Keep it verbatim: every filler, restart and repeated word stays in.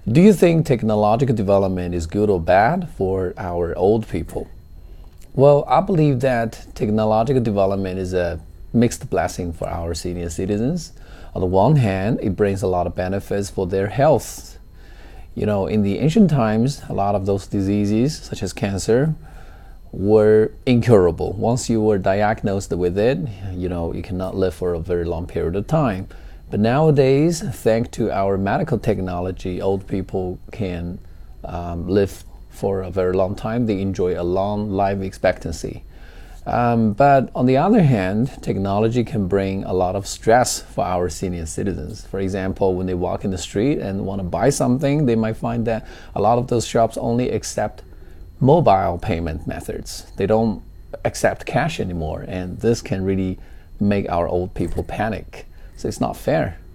Do you think technological development is good or bad for our old people? Well, I believe that technological development is a mixed blessing for our senior citizens. On the one hand, it brings a lot of benefits for their health. You know, in the ancient times, a lot of those diseases, such as cancer, were incurable. Once you were diagnosed with it, you know, you cannot live for a very long period of time. But nowadays, thanks to our medical technology, old people can um, live for a very long time. They enjoy a long life expectancy. Um, but on the other hand, technology can bring a lot of stress for our senior citizens. For example, when they walk in the street and want to buy something, they might find that a lot of those shops only accept mobile payment methods. They don't accept cash anymore, and this can really make our old people panic. So it's not fair.